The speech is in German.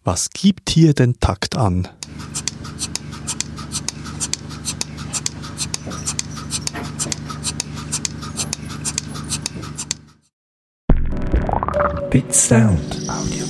Was gibt hier den Takt an? Bit Sound Audio.